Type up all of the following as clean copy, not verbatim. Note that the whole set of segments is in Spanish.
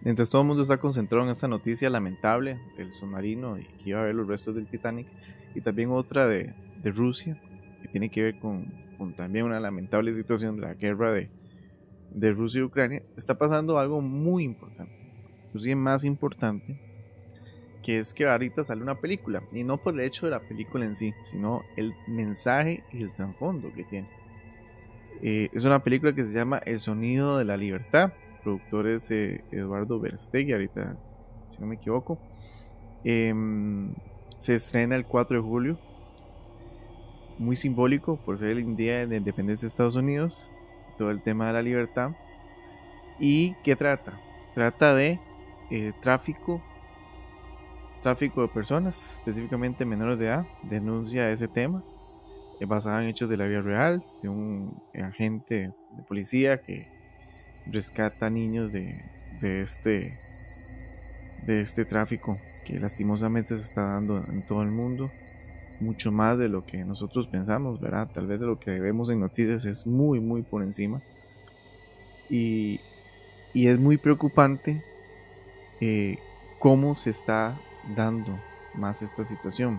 Mientras todo el mundo está concentrado en esta noticia lamentable del submarino y que iba a ver los restos del Titanic, y también otra de Rusia, que tiene que ver con también una lamentable situación de la guerra de Rusia y Ucrania, está pasando algo muy importante, inclusive más importante, que es que ahorita sale una película, y no por el hecho de la película en sí, sino el mensaje y el trasfondo que tiene. Es una película que se llama El sonido de la libertad, productores Eduardo Verástegui, ahorita, si no me equivoco. Se estrena el 4 de julio, muy simbólico por ser el día de la independencia de Estados Unidos, todo el tema de la libertad. ¿Y qué trata? Trata de tráfico de personas, específicamente menores de edad, denuncia ese tema, basada en hechos de la vida real, de un agente de policía que rescata niños de este, de este tráfico que lastimosamente se está dando en todo el mundo, mucho más de lo que nosotros pensamos, ¿verdad? Tal vez de lo que vemos en noticias es muy, muy por encima. Y, y es muy preocupante eh, cómo se está dando más esta situación.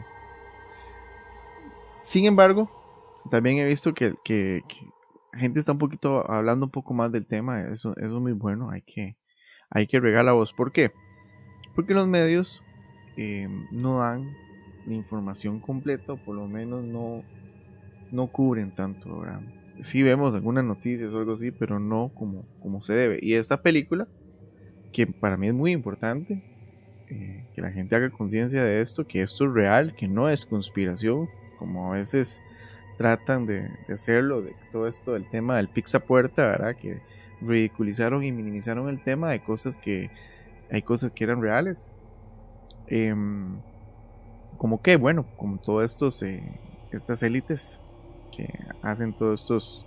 Sin embargo, también he visto que la gente está un poquito hablando un poco más del tema. Eso es muy bueno. Hay que regar la voz. ¿Por qué? Porque los medios no dan la información completa, o por lo menos no cubren tanto, ¿verdad? Sí vemos algunas noticias o algo así, pero no como se debe. Y esta película, que para mí es muy importante, que la gente haga conciencia de esto, que esto es real, que no es conspiración, como a veces tratan de hacerlo, de todo esto del tema del pizza puerta, ¿verdad? Que ridiculizaron y minimizaron el tema de cosas que hay cosas que eran reales. Eh, Como que, bueno, como todos estas élites que hacen todos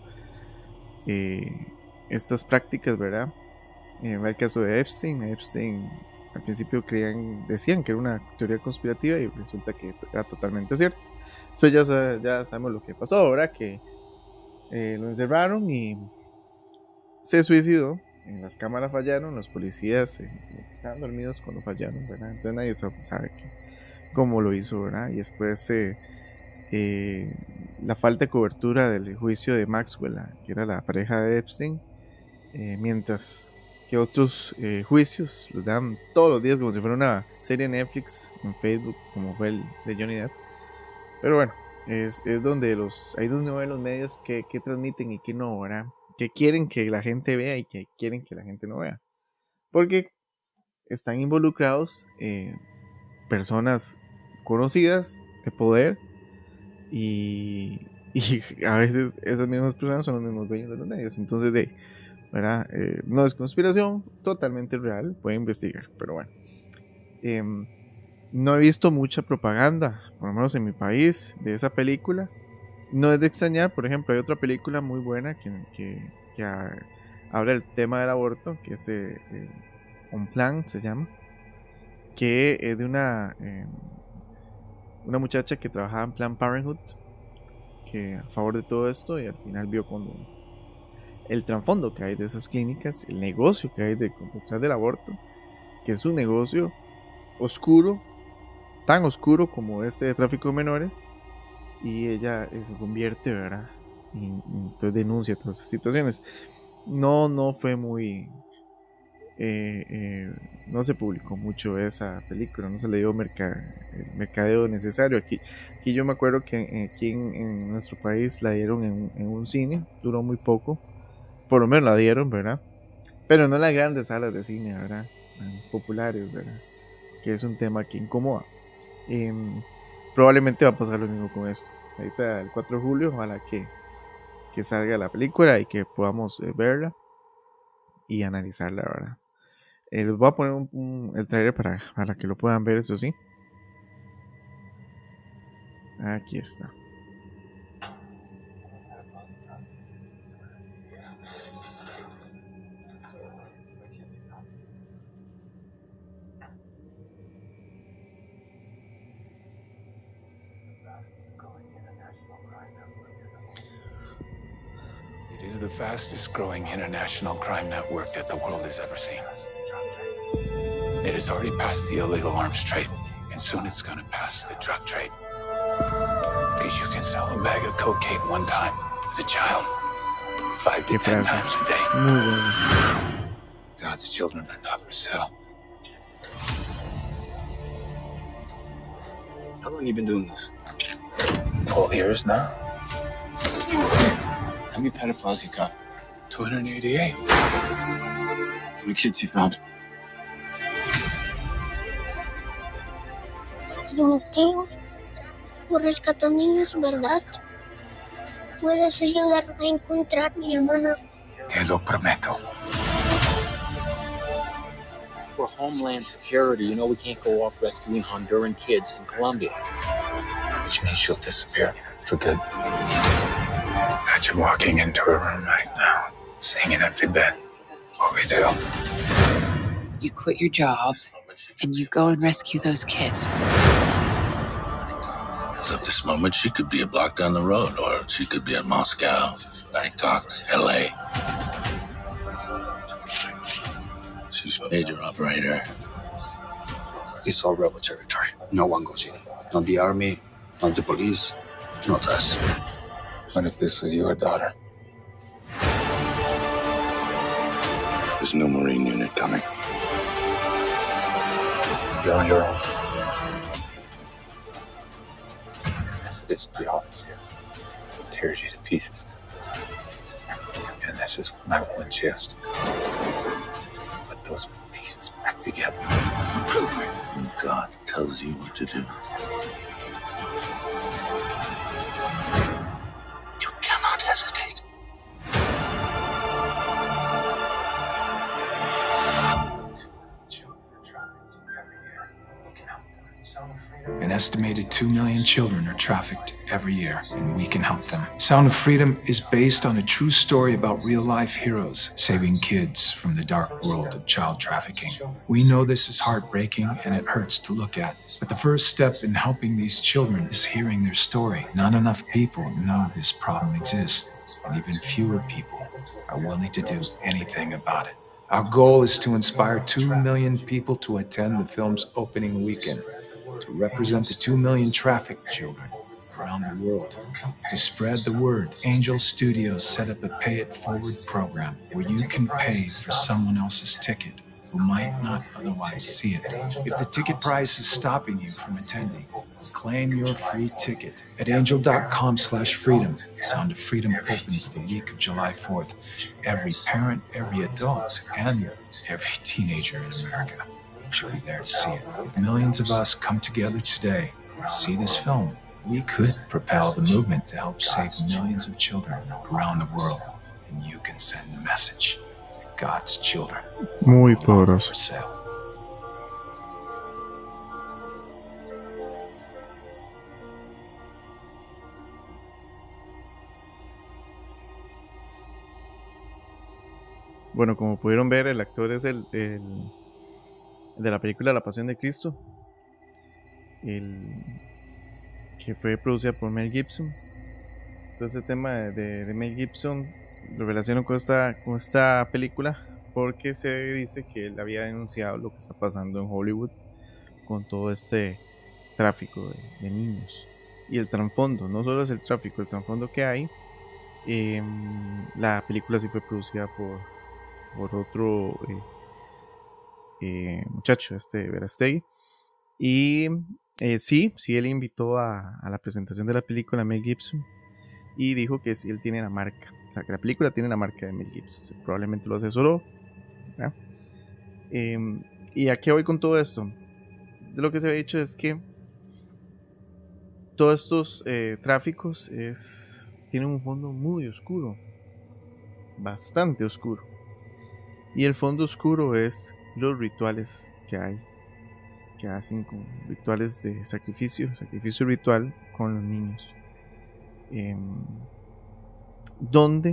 eh, estas prácticas, ¿verdad? El caso de Epstein. Epstein al principio decían que era una teoría conspirativa y resulta que era totalmente cierto. Entonces ya sabemos lo que pasó, ¿verdad? Que lo encerraron y se suicidó. Las cámaras fallaron, los policías estaban dormidos cuando fallaron, ¿verdad? Entonces nadie sabe cómo lo hizo, ¿verdad? Y después eh, la falta de cobertura del juicio de Maxwell, que era la pareja de Epstein, mientras que otros juicios los dan todos los días como si fuera una serie de Netflix en Facebook, como fue el de Johnny Depp. Pero bueno, es donde ahí donde ven los medios que transmiten y que no, ¿verdad? Que quieren que la gente vea y que quieren que la gente no vea. Porque están involucrados personas conocidas de poder y a veces esas mismas personas son los mismos dueños de los medios. Entonces, ¿verdad? No es conspiración, totalmente real, pueden investigar, pero bueno. No he visto mucha propaganda, por lo menos en mi país, de esa película. No es de extrañar, por ejemplo, hay otra película muy buena que habla del tema del aborto, que es Un Plan, se llama, que es de una muchacha que trabajaba en Planned Parenthood, que a favor de todo esto, y al final vio cuando el trasfondo que hay de esas clínicas, el negocio que hay detrás del aborto, que es un negocio oscuro, tan oscuro como este de tráfico de menores, y ella se convierte, ¿verdad? Y entonces denuncia todas estas situaciones. No fue muy... no se publicó mucho esa película, no se le dio el mercadeo necesario. Aquí yo me acuerdo que aquí en nuestro país la dieron en un cine, duró muy poco, por lo menos la dieron, ¿verdad? Pero no en las grandes salas de cine, ¿verdad? Populares, ¿verdad? Que es un tema que incomoda. Eh, Probablemente va a pasar lo mismo con esto. Ahorita el 4 de julio, ojalá que salga la película y que podamos verla y analizarla, ¿verdad? Les voy a poner el trailer para que lo puedan ver, eso sí. Aquí está. It is the fastest growing international crime network that the world has ever seen. It has already passed the illegal arms trade, and soon it's gonna pass the drug trade. Because you can sell a bag of cocaine one time to a child, 5 to 10 times a day. God's children are not for sale. How long have you been doing this? 12 years now. How many pedophiles you got? 288. How many kids you found? Timoteo, tú rescatas niños, ¿verdad? ¿Puedes ayudarme a encontrar a mi hermana? Te lo prometo. For Homeland Security, you know we can't go off rescuing Honduran kids in Colombia. Which means she'll disappear for good. Imagine walking into a room right now, seeing an empty bed. What we do? You quit your job and you go and rescue those kids. So at this moment, she could be a block down the road, or she could be in Moscow, Bangkok, LA. She's a major operator. It's all rebel territory. No one goes in. Not the army, not the police, not us. What if this was your daughter? There's no Marine unit coming. You're on your own. This job tears you to pieces. And this is my one chance to put those pieces back together. When God tells you what to do, you cannot hesitate. An estimated 2 million children are trafficked every year, and we can help them. Sound of Freedom is based on a true story about real-life heroes saving kids from the dark world of child trafficking. We know this is heartbreaking and it hurts to look at, but the first step in helping these children is hearing their story. Not enough people know this problem exists, and even fewer people are willing to do anything about it. Our goal is to inspire 2 million people to attend the film's opening weekend, to represent the 2 million trafficked children around the world. To spread the word, Angel Studios set up a Pay It Forward program where you can pay for someone else's ticket who might not otherwise see it. If the ticket price is stopping you from attending, claim your free ticket at angel.com/freedom. Sound of Freedom opens the week of July 4th. Every parent, every adult, and every teenager in America should be there to see it. If millions of us come together today to see this film, we could propel the movement to help save millions of children around the world. And you can send the message that God's children Muy are not poderoso. for sale. Bueno, como pudieron ver, el actor es el de la película La Pasión de Cristo, el que fue producida por Mel Gibson. Todo este tema de Mel Gibson lo relaciono con esta película porque se dice que él había denunciado lo que está pasando en Hollywood con todo este tráfico de niños. Y el trasfondo, no solo es el tráfico, el trasfondo que hay. La película sí fue producida por otro muchacho, Verastegui. Y sí, él invitó a la presentación de la película a Mel Gibson y dijo que sí, él tiene la marca, o sea, que la película tiene la marca de Mel Gibson, o sea, probablemente lo asesoró, ¿verdad? ¿Y a qué voy con todo esto? De lo que se ha dicho es que todos estos tráficos tienen un fondo muy oscuro, bastante oscuro. Y el fondo oscuro es los rituales que hay, que hacen con rituales de sacrificio ritual con los niños. Donde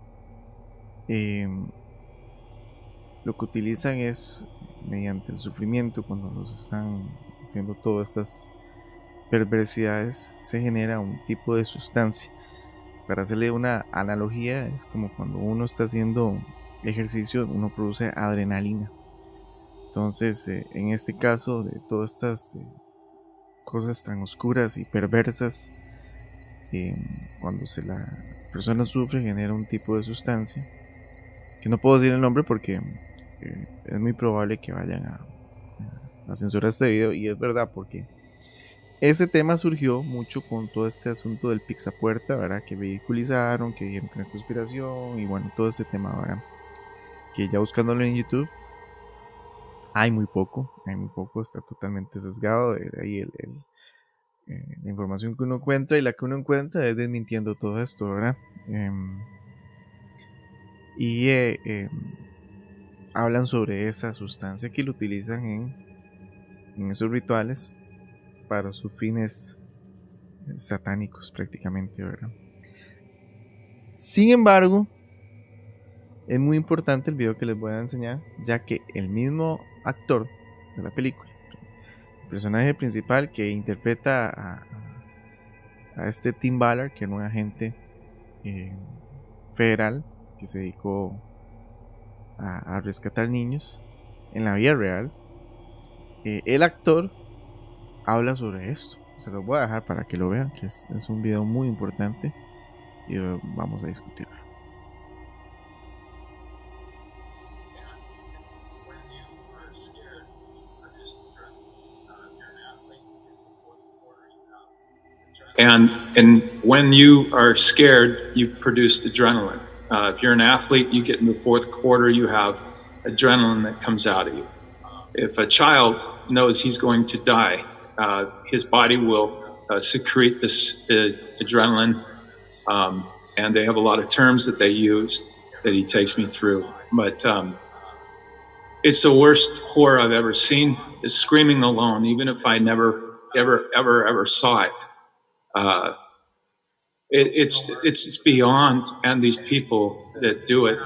lo que utilizan es mediante el sufrimiento, cuando los están haciendo todas estas perversidades, se genera un tipo de sustancia. Para hacerle una analogía, es como cuando uno está haciendo ejercicio, uno produce adrenalina. Entonces, en este caso, de todas estas cosas tan oscuras y perversas, cuando la persona sufre, genera un tipo de sustancia, que no puedo decir el nombre porque es muy probable que vayan a censurar este video, y es verdad, porque este tema surgió mucho con todo este asunto del Pixapuerta, ¿verdad? Que ridiculizaron, que dijeron que era conspiración, y bueno, todo este tema, ¿verdad? Que ya buscándolo en YouTube hay muy poco, está totalmente sesgado. De ahí la información que uno encuentra, y la que uno encuentra es desmintiendo todo esto, ¿verdad? Y hablan sobre esa sustancia que lo utilizan en esos rituales para sus fines satánicos prácticamente, ¿verdad? Sin embargo, es muy importante el video que les voy a enseñar, ya que el mismo actor de la película, el personaje principal que interpreta a este Tim Ballard, que era un agente federal que se dedicó a rescatar niños en la vida real, el actor habla sobre esto. Se los voy a dejar para que lo vean, que es un video muy importante, y vamos a discutirlo. And when you are scared, you produce adrenaline. If you're an athlete, you get in the fourth quarter, you have adrenaline that comes out of you. If a child knows he's going to die, his body will secrete this adrenaline, and they have a lot of terms that they use that he takes me through. But it's the worst horror I've ever seen, is screaming alone, even if I never, ever saw it. It's beyond, and these people that do it,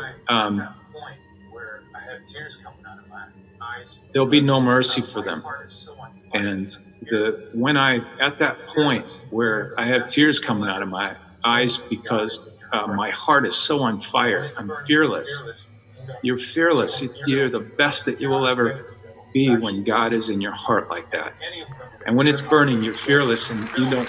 there'll be no mercy for them. And when at that point where I have tears coming out of my eyes because my heart is so on fire, I'm fearless. You're fearless. You're the best that you will ever be when God is in your heart like that. And when it's burning, you're fearless, and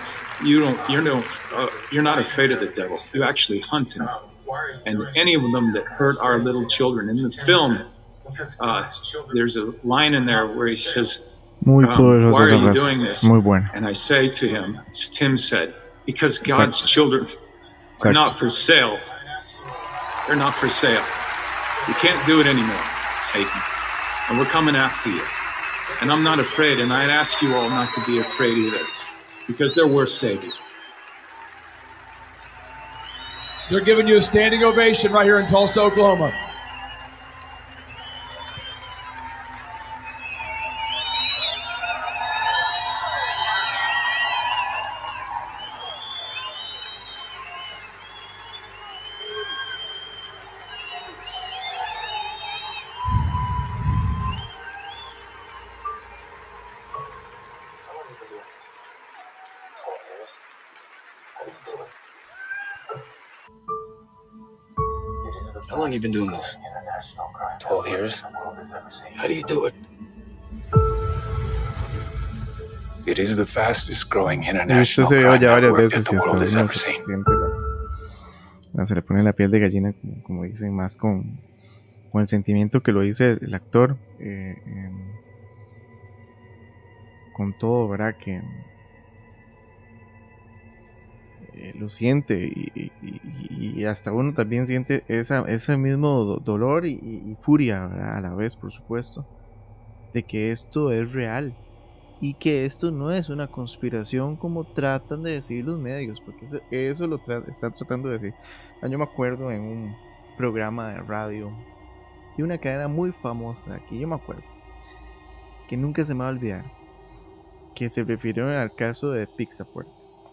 you're not afraid of the devil. You actually hunt him. And any of them that hurt our little children in the film, there's a line in there where he says, Muy why are you doing this? Muy bueno. And I say to him, as Tim said, because God's children are not for sale. They're not for sale. You can't do it anymore, Satan. And we're coming after you. And I'm not afraid, and I'd ask you all not to be afraid either, because they're worth saving. They're giving you a standing ovation right here in Tulsa, Oklahoma. How long have you been doing this? 12 years. How do you do it? It is the fastest growing He visto international ese video crime ya varias network that veces, the y hasta world has uno ever seen. se le pone la piel de gallina, como dicen, más con el sentimiento que lo dice el actor, con todo, ¿verdad? Que lo siente, y hasta uno también siente ese mismo dolor y furia, ¿verdad? A la vez, por supuesto, de que esto es real, y que esto no es una conspiración como tratan de decir los medios, porque eso lo están tratando de decir. Yo me acuerdo en un programa de radio de una cadena muy famosa de aquí, yo me acuerdo, que nunca se me va a olvidar, que se refirieron al caso de Pixapuerta,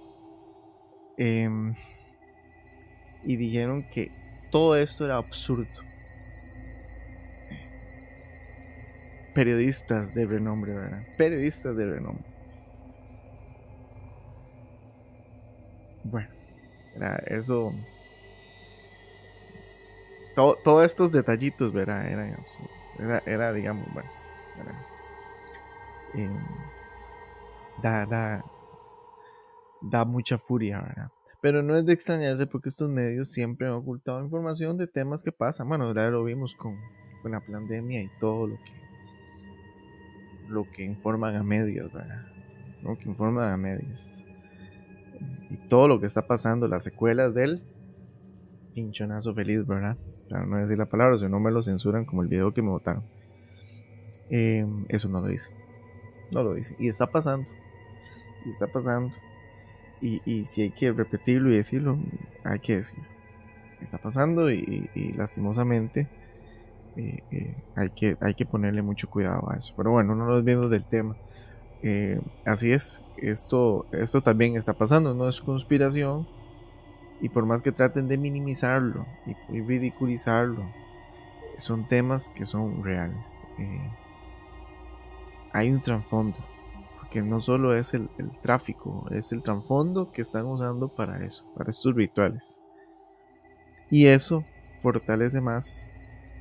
y dijeron que todo esto era absurdo. Periodistas de renombre, ¿verdad? Periodistas de renombre. Bueno, eso. Todos estos detallitos, ¿verdad? Eran absurdos. Era, digamos, bueno. ¿verdad? Eh, da, da, da mucha furia, ¿verdad? Pero no es de extrañarse porque estos medios siempre han ocultado información de temas que pasan. Bueno, ya lo vimos con la pandemia y todo lo que informan a medios, ¿verdad? Lo que informan a medios. Y todo lo que está pasando, las secuelas del pinchonazo feliz, ¿verdad? Para no decir la palabra, si no me lo censuran como el video que me botaron. Eso no lo dice. No lo dice. Y está pasando. Y está pasando. Y si hay que repetirlo y decirlo, hay que decirlo. Está pasando y lastimosamente hay que ponerle mucho cuidado a eso. Pero bueno, no nos vemos del tema. Así es, esto también está pasando, no es conspiración. Y por más que traten de minimizarlo y ridiculizarlo, son temas que son reales. Hay un trasfondo. Que no solo es el tráfico, es el trasfondo que están usando para eso, para estos rituales. Y eso fortalece más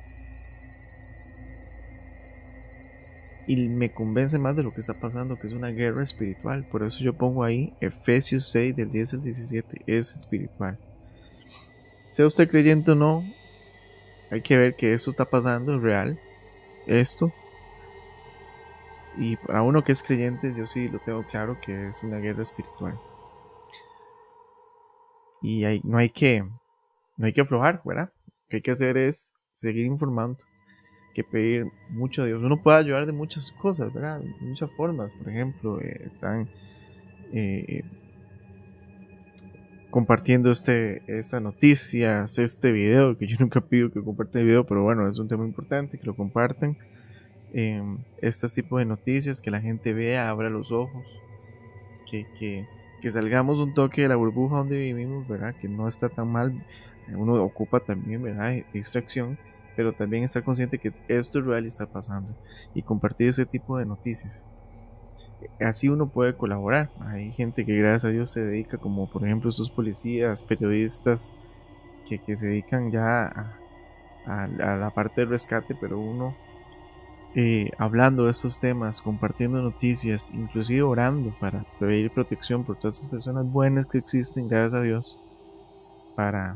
y me convence más de lo que está pasando, que es una guerra espiritual. Por eso yo pongo ahí Efesios 6 del 10 al 17, es espiritual. Sea usted creyente o no, hay que ver que esto está pasando, es real, esto. Y para uno que es creyente, yo sí lo tengo claro que es una guerra espiritual. Y no hay que aflojar, ¿verdad? Lo que hay que hacer es seguir informando, que pedir mucho a Dios. Uno puede ayudar de muchas cosas, ¿verdad? De muchas formas. Por ejemplo, están compartiendo estas noticias, este video, que yo nunca pido que compartan el video, pero bueno, es un tema importante, que lo compartan. Este tipo de noticias, que la gente vea, abra los ojos, que salgamos un toque de la burbuja donde vivimos, ¿verdad? Que no está tan mal, uno ocupa también, ¿verdad? De distracción, pero también estar consciente que esto es real y está pasando, y compartir ese tipo de noticias. Así uno puede colaborar. Hay gente que gracias a Dios se dedica, como por ejemplo estos policías, periodistas, que se dedican ya a la parte del rescate, pero uno hablando de estos temas, compartiendo noticias, inclusive orando para pedir protección por todas estas personas buenas que existen, gracias a Dios, para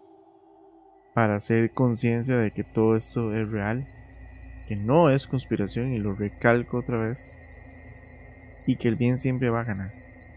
hacer conciencia de que todo esto es real, que no es conspiración, y lo recalco otra vez, y que el bien siempre va a ganar,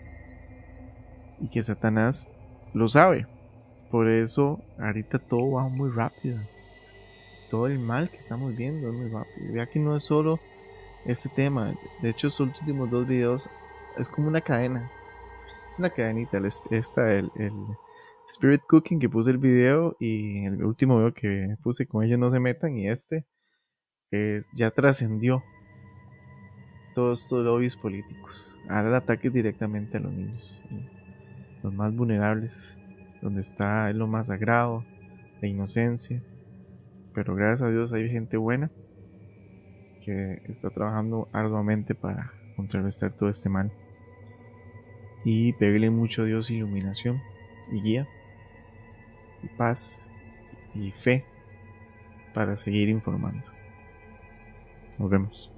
y que Satanás lo sabe. Por eso ahorita todo va muy rápido, todo el mal que estamos viendo es muy rápido. Vea que no es solo este tema. De hecho, estos últimos dos videos es como una cadena, una cadenita. El Spirit Cooking, que puse el video, y el último video que puse, con ellos no se metan, y ya trascendió todos estos lobbies políticos. Ahora el ataque directamente a los niños, los más vulnerables, donde está lo más sagrado, la inocencia. Pero gracias a Dios hay gente buena que está trabajando arduamente para contrarrestar todo este mal, y pedirle mucho a Dios iluminación y guía y paz y fe para seguir informando. Nos vemos.